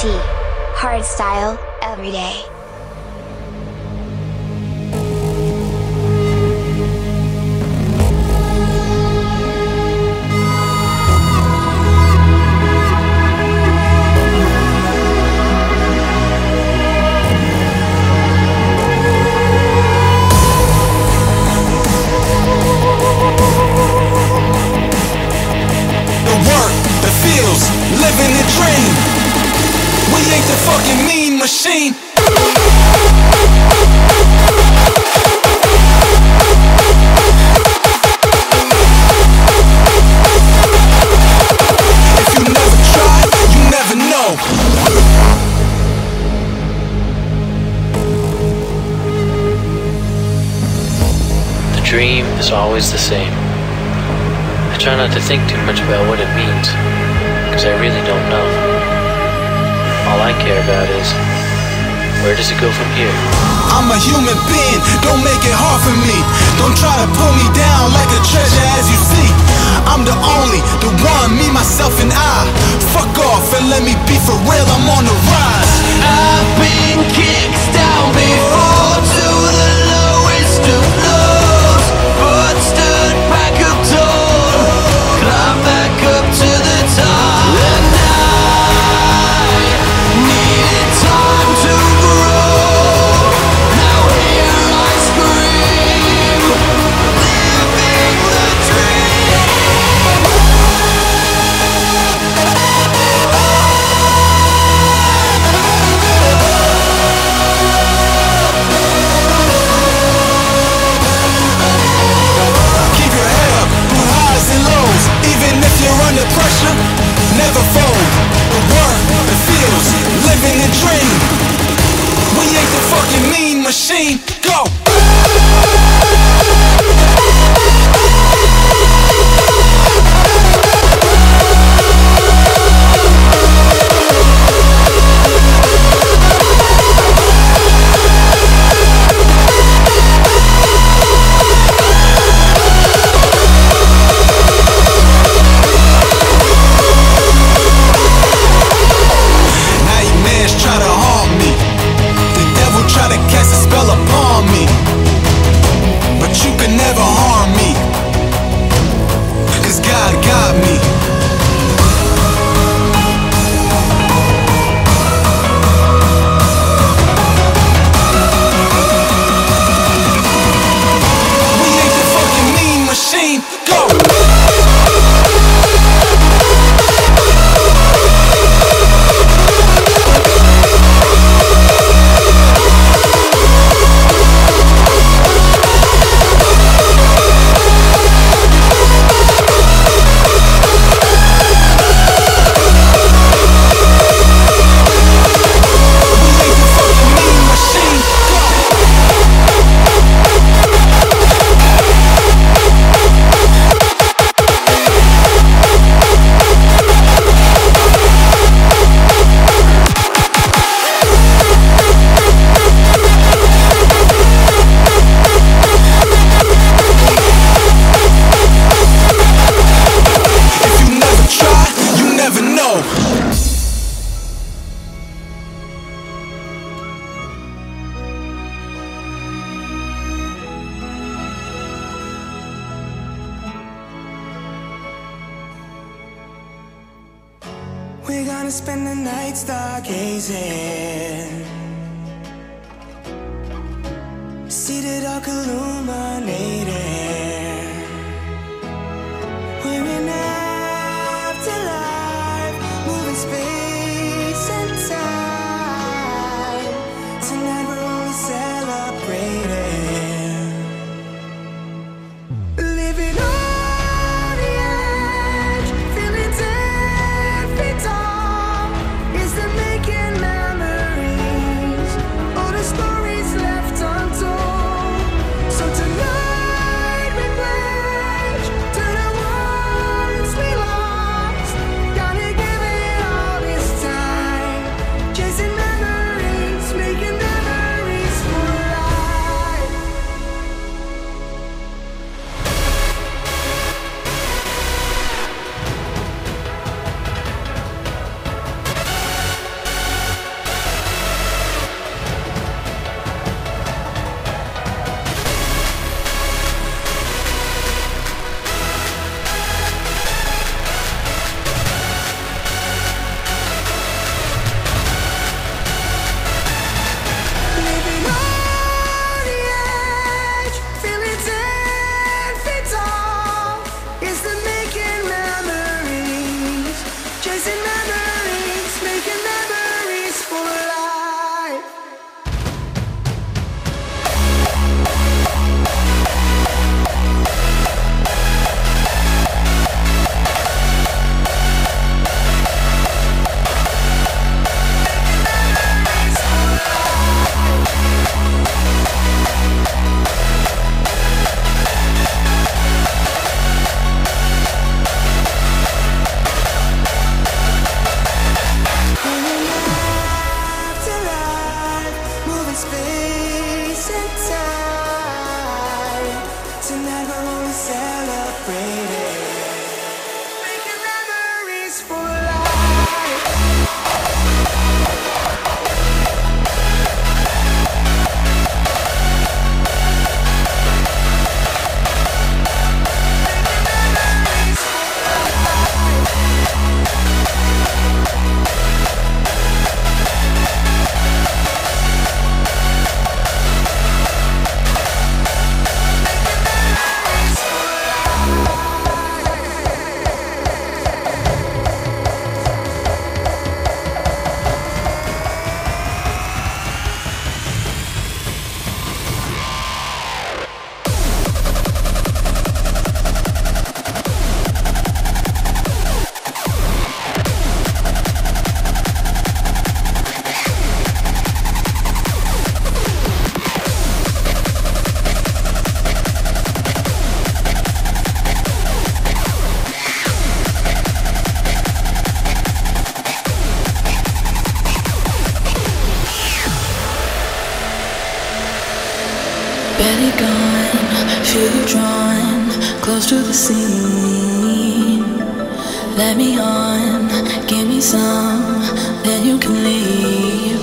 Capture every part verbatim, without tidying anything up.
T. Hardstyle, every day. Living the dream. We ain't the fucking mean machine. If you never try, you never know. The dream is always the same. I try not to think too much about what it means, because I really don't know. All I care about is, where does it go from here? I'm a human being, don't make it hard for me. Don't try to pull me down like a treasure as you see. I'm the only, the one, me, myself and I. Fuck off and let me be for real, I'm on the rise. I've been kicked down before to the lowest of lows, but stood back up tall, climbed back up to the top. Under pressure, never fold. The work, the feels, living the dream. We ain't the fucking mean machine. Go! We're gonna spend the night stargazing, seated dark illuminated. We're in afterlife, moving space and time. Tonight we're only celebrating, living on the edge, feeling ten feet tall. Is the making memories, all the stories left untold. So tonight Barely gone, feel you drawn close to the scene. Let me on, give me some, then you can leave.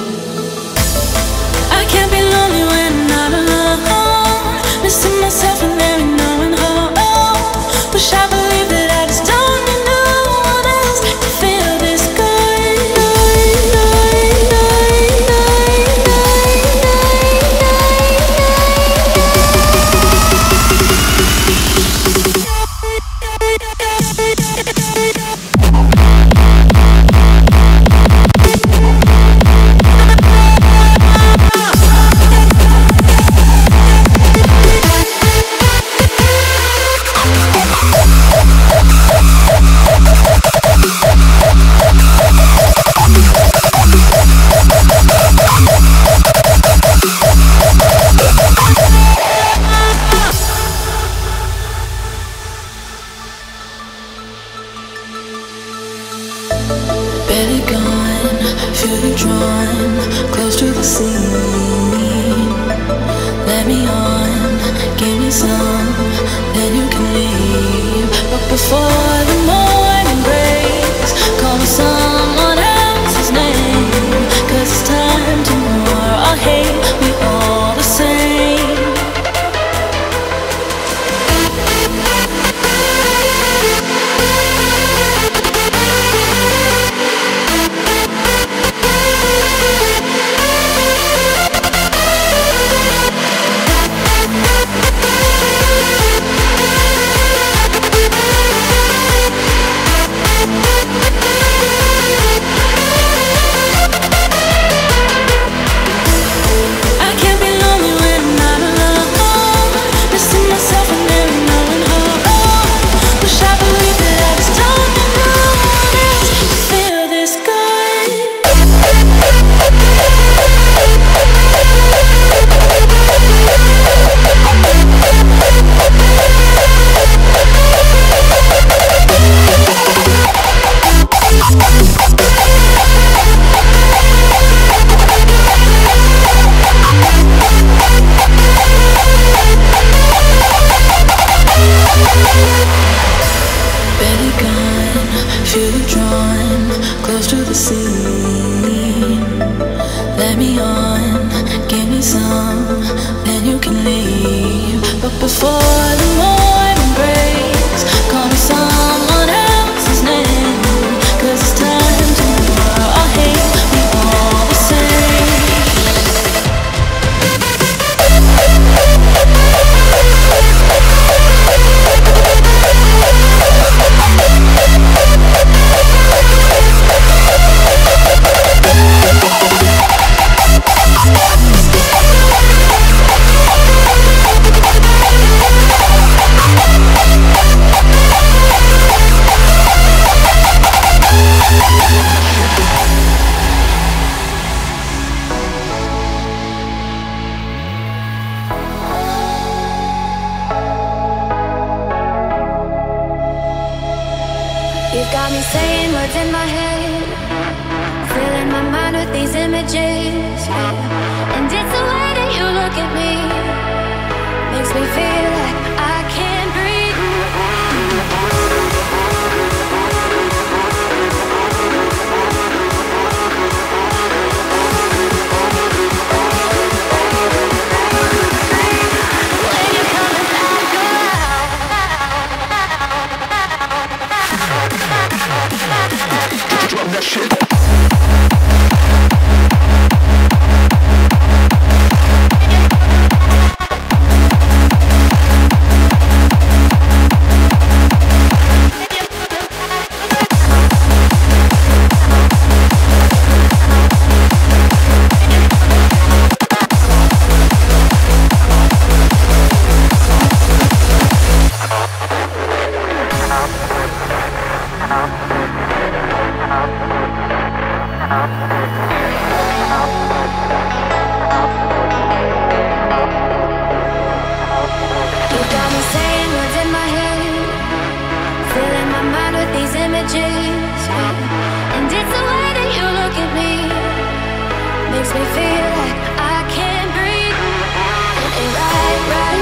I can't be lonely when I'm not alone, missing myself and there ain't no one home. Wish I believed that I just don't need no one else to feel this good. Barely gone, feel you drawn close to the scene. Let me on, give me some, then you can leave. But before the morning breaks, call me someone else's name, 'cause it's time to more. I hate we all the same. Makes me feel like I can't breathe. It ain't right, right.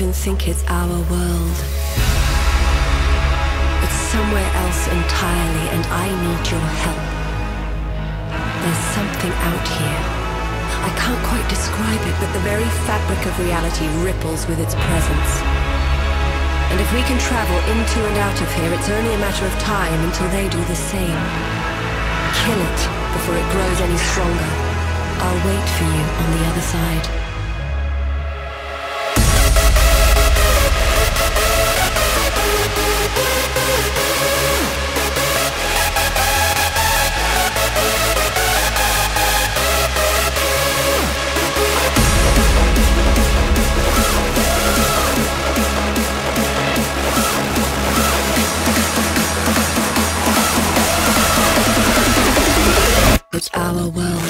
even think it's our world. It's somewhere else entirely, and I need your help. There's something out here. I can't quite describe it, but the very fabric of reality ripples with its presence. And if we can travel into and out of here, it's only a matter of time until they do the same. Kill it before it grows any stronger. I'll wait for you on the other side. It's our world.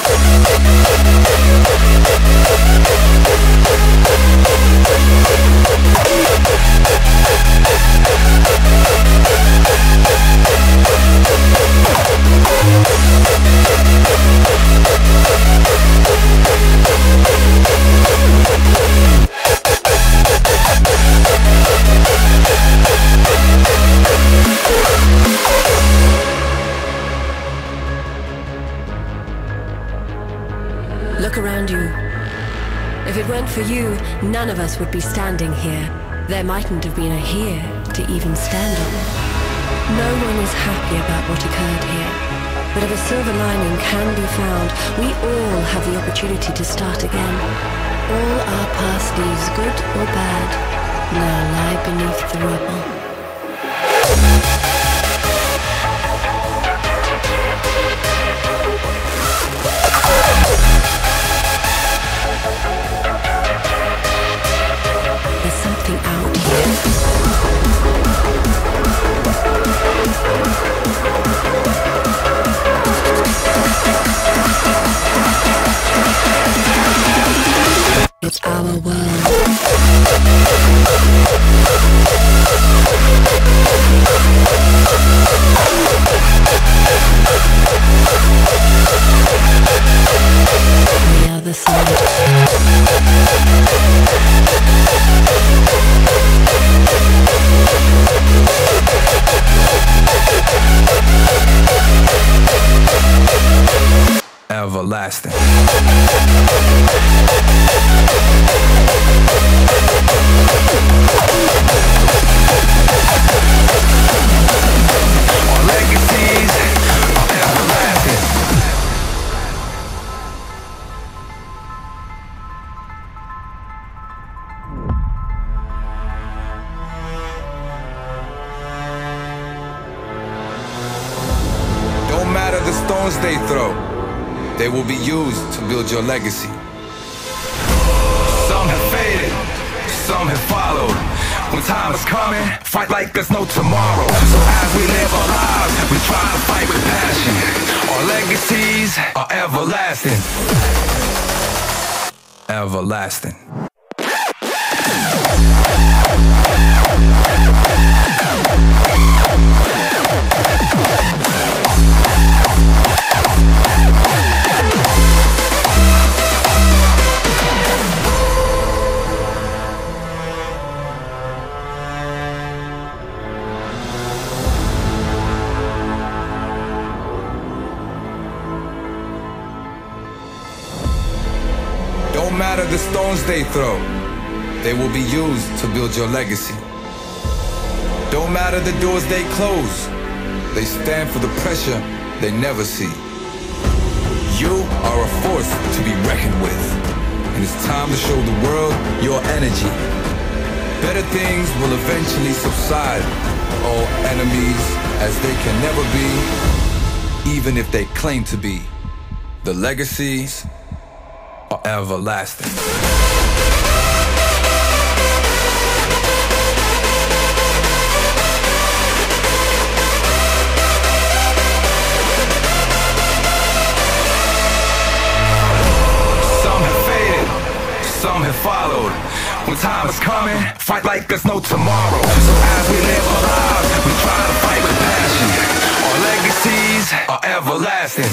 Look around you. If it weren't for you, none of us would be standing here. There mightn't have been a here to even stand on. No one is happy about what occurred here. But if a silver lining can be found, we all have the opportunity to start again. All our past leaves, good or bad, now lie beneath the rubble. There's something out here. It's our world. The other side. Everlasting. Our legacies are everlasting. Don't matter the stones they throw, they will be used to build your legacy. Some have faded, some have followed. When time is coming, fight like there's no tomorrow. So as we live our lives, we try to fight with passion. Our legacies are everlasting. Everlasting. Don't matter the stones they throw, they will be used to build your legacy. Don't matter the doors they close, they stand for the pressure they never see. You are a force to be reckoned with, and it's time to show the world your energy. Better things will eventually subside, all enemies as they can never be, even if they claim to be. The legacies are everlasting. Some have faded, some have followed. When time is coming, fight like there's no tomorrow. So as we live our lives, we try to fight with passion. Our legacies are everlasting.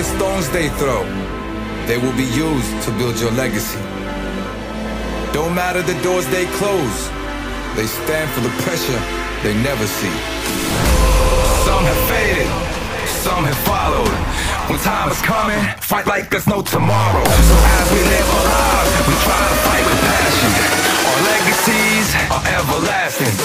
the stones they throw, they will be used to build your legacy. Don't matter the doors they close, they stand for the pressure they never see. Some have faded, some have followed. When time is coming, fight like there's no tomorrow. So as we live our lives, we try to fight with passion. Our legacies are everlasting.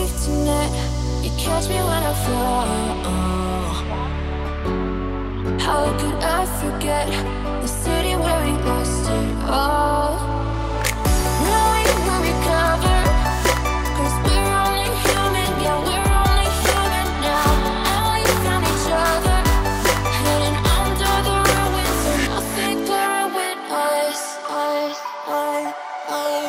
catch me when I fall. How could I forget the city where we lost it all? Now we will recover, 'cause we're only human, yeah, we're only human now. And we found each other, hidden under the ruins, so nothing to ruin us, us, us, us.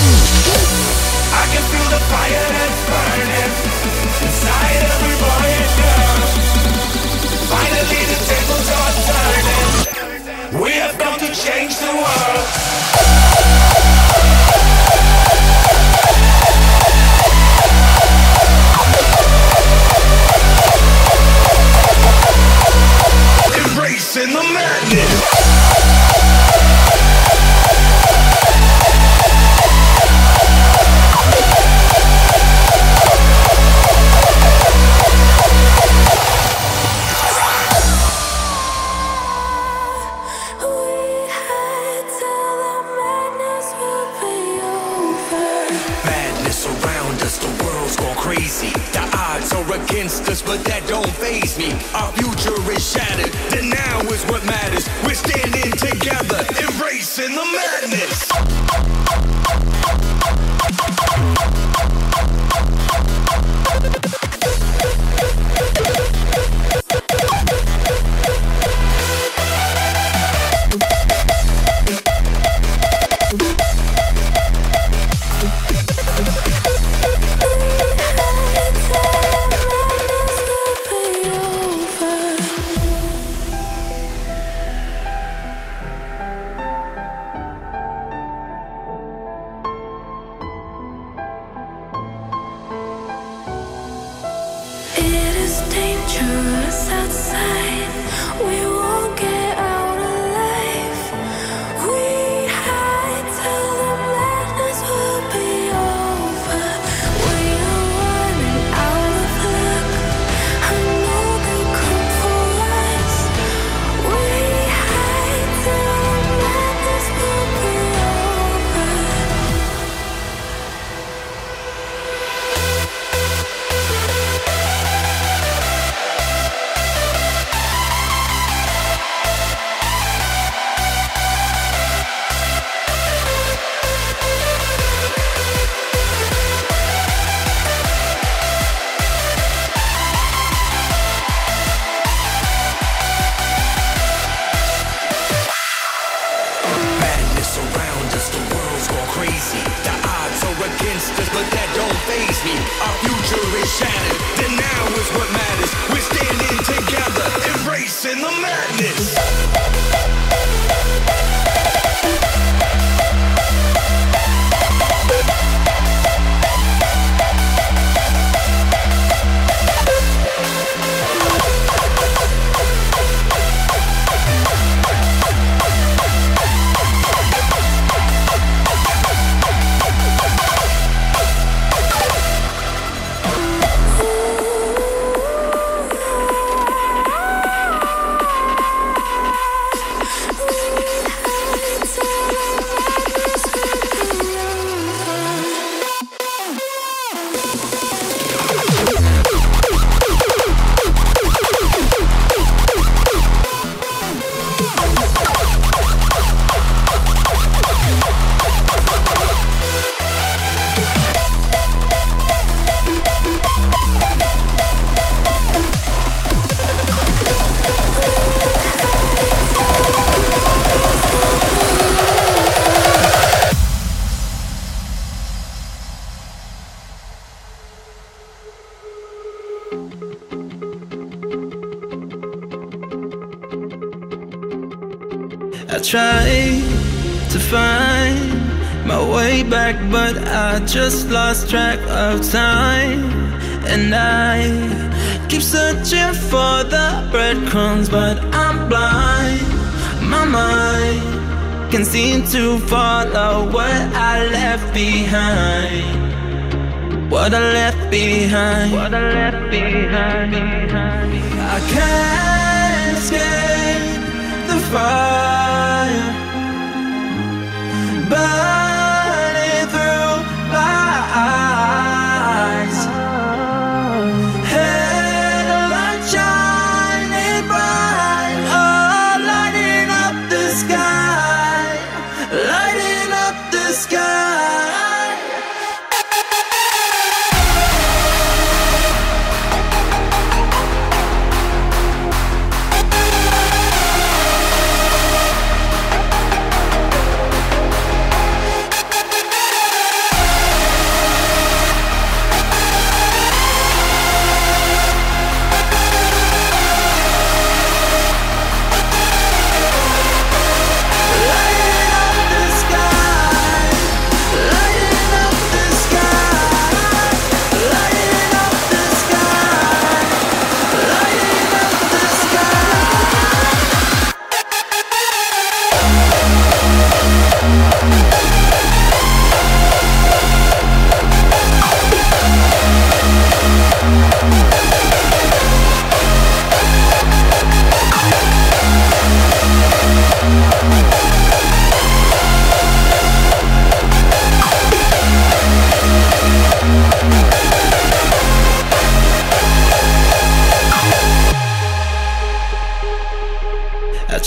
I can feel the fire that's burning inside every boy. odds are against us, but that don't faze me. Our future is shattered, the now is what matters. We're standing together, embracing the madness. I tried to find my way back, but I just lost track of time. And I keep searching for the breadcrumbs, but I'm blind. My mind can seem to follow what I left behind. What I left behind. What I left behind. I can't escape the fire burning through my eyes. Headlight shining bright, oh, lighting up the sky, lighting up the sky.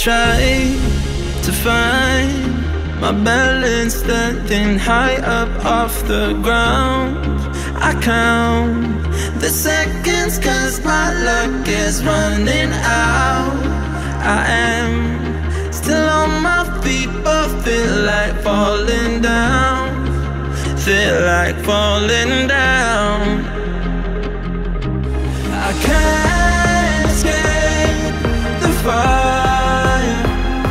try to find my balance, standing high up off the ground. I count the seconds cause my luck is running out. I am still on my feet but feel like falling down. Feel like falling down. I can't escape the fire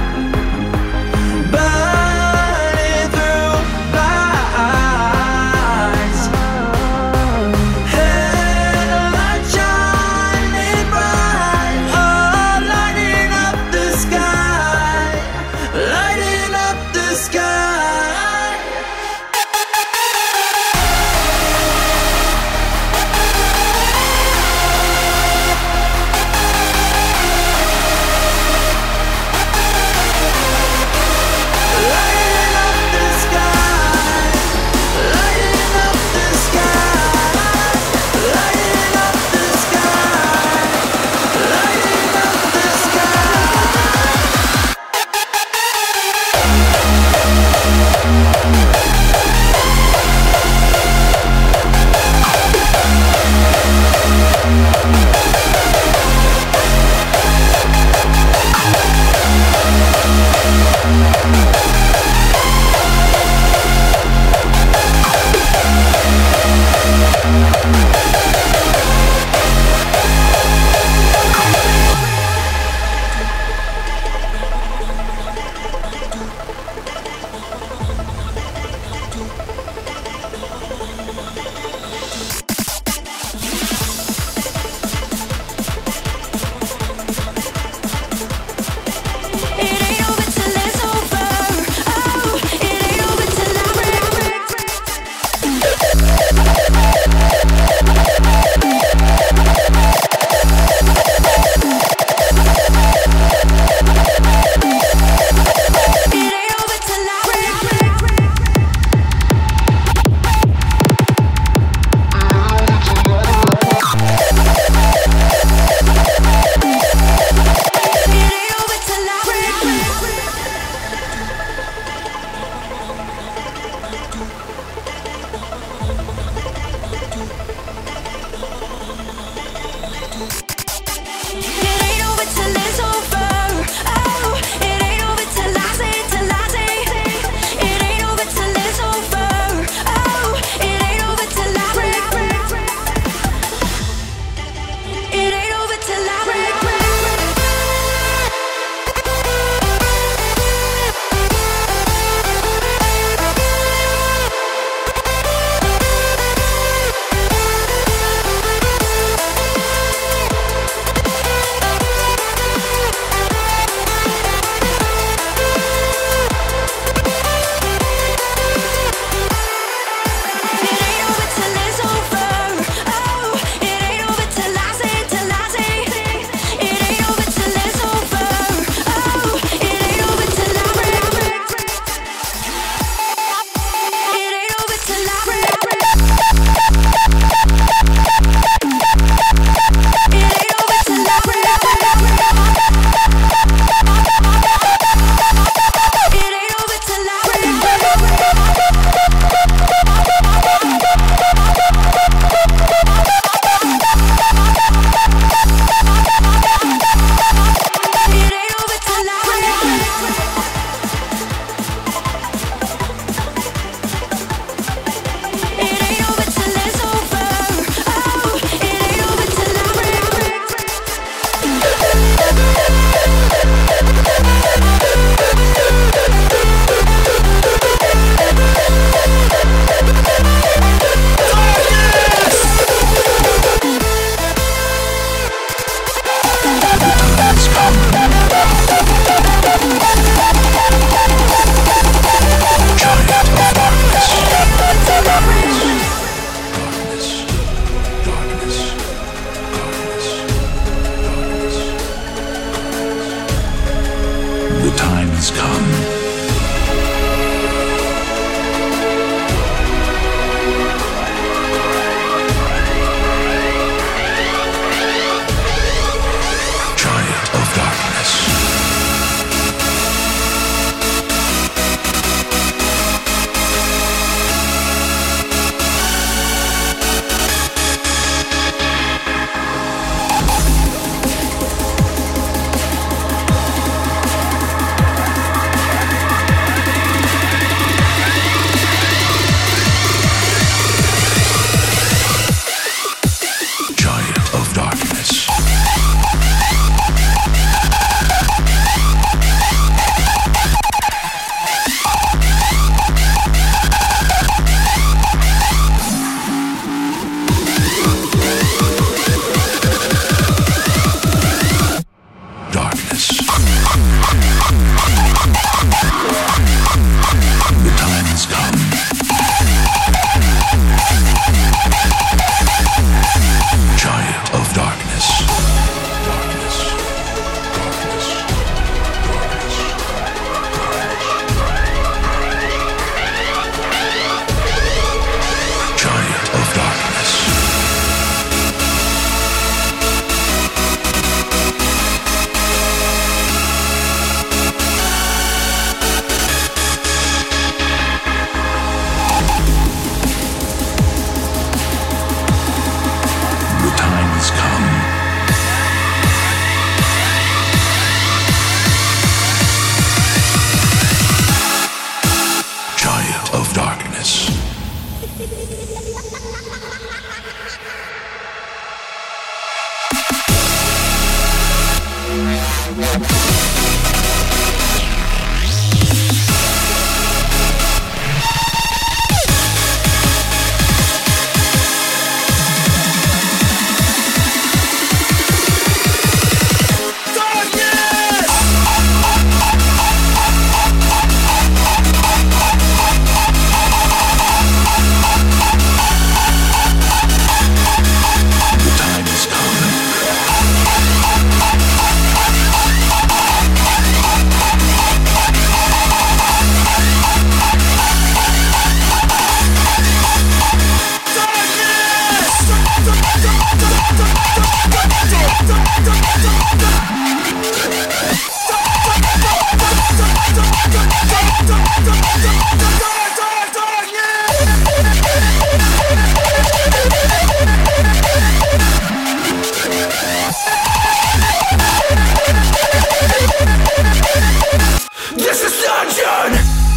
burning through my eyes. Headlight shining bright, oh, lighting up the sky, lighting up the sky. has come. Giant of darkness. This is Dungeon!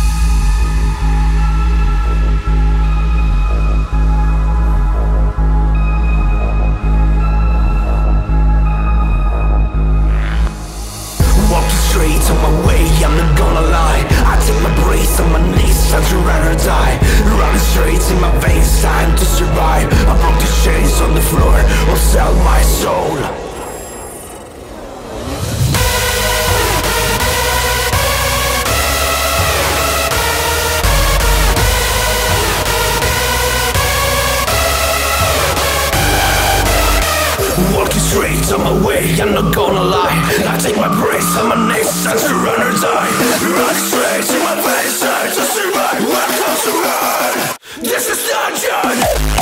Walking straight on my way, I'm not gonna lie. I take my brace on my knees, time to run or die. Running straight in my veins, time to survive. I broke the chains on the floor, or sell my soul. Walking straight on my way, I'm not gonna lie. I take my brace on my knees, time to run or die. Run straight in my veins, time to survive. Welcome to run. This is Dungeon.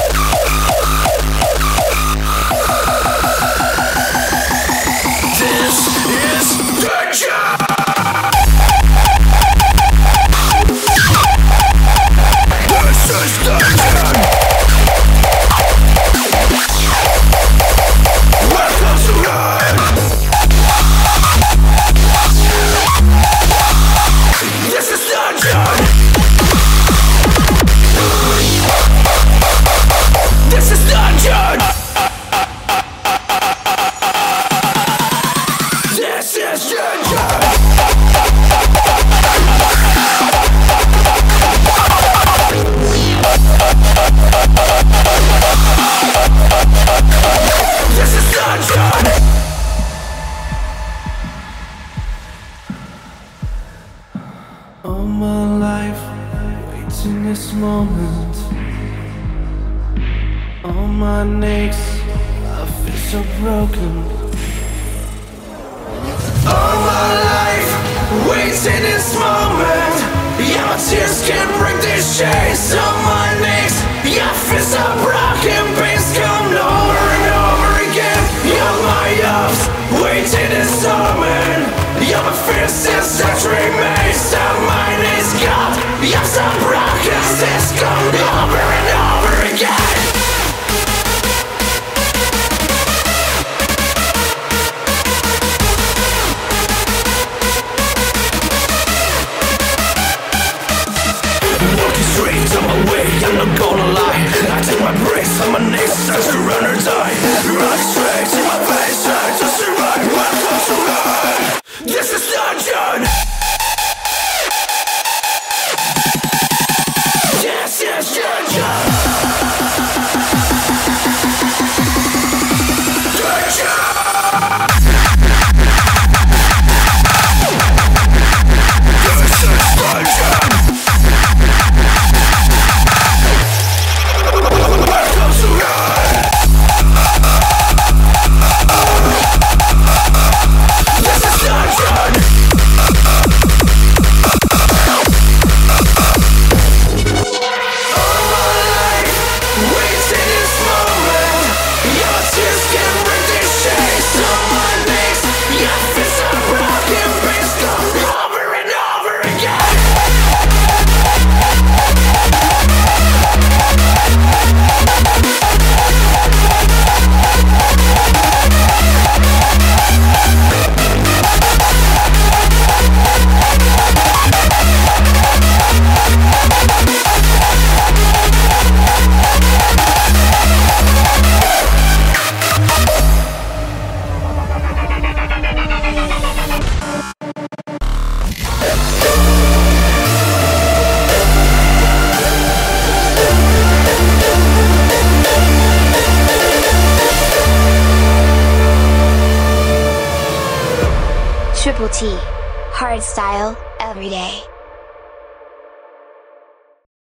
This is Dungeon. This is Dungeon. Welcome to run. This is Dungeon. This is Dungeon. This is Dungeon. This is Dungeon. All my life, waiting this moment. On my knees, I feel so broken. All my life, waiting this moment. Yeah, my tears can't break these chains on my knees. Yeah, I feel so broken, pains come over and over again. Yeah, my ups, waiting this moment. Yeah, my fears still saturate me. So my knees, God, yeah, I'm so broken, this come over and over again. Walking straight on my way, T. Hardstyle, every day.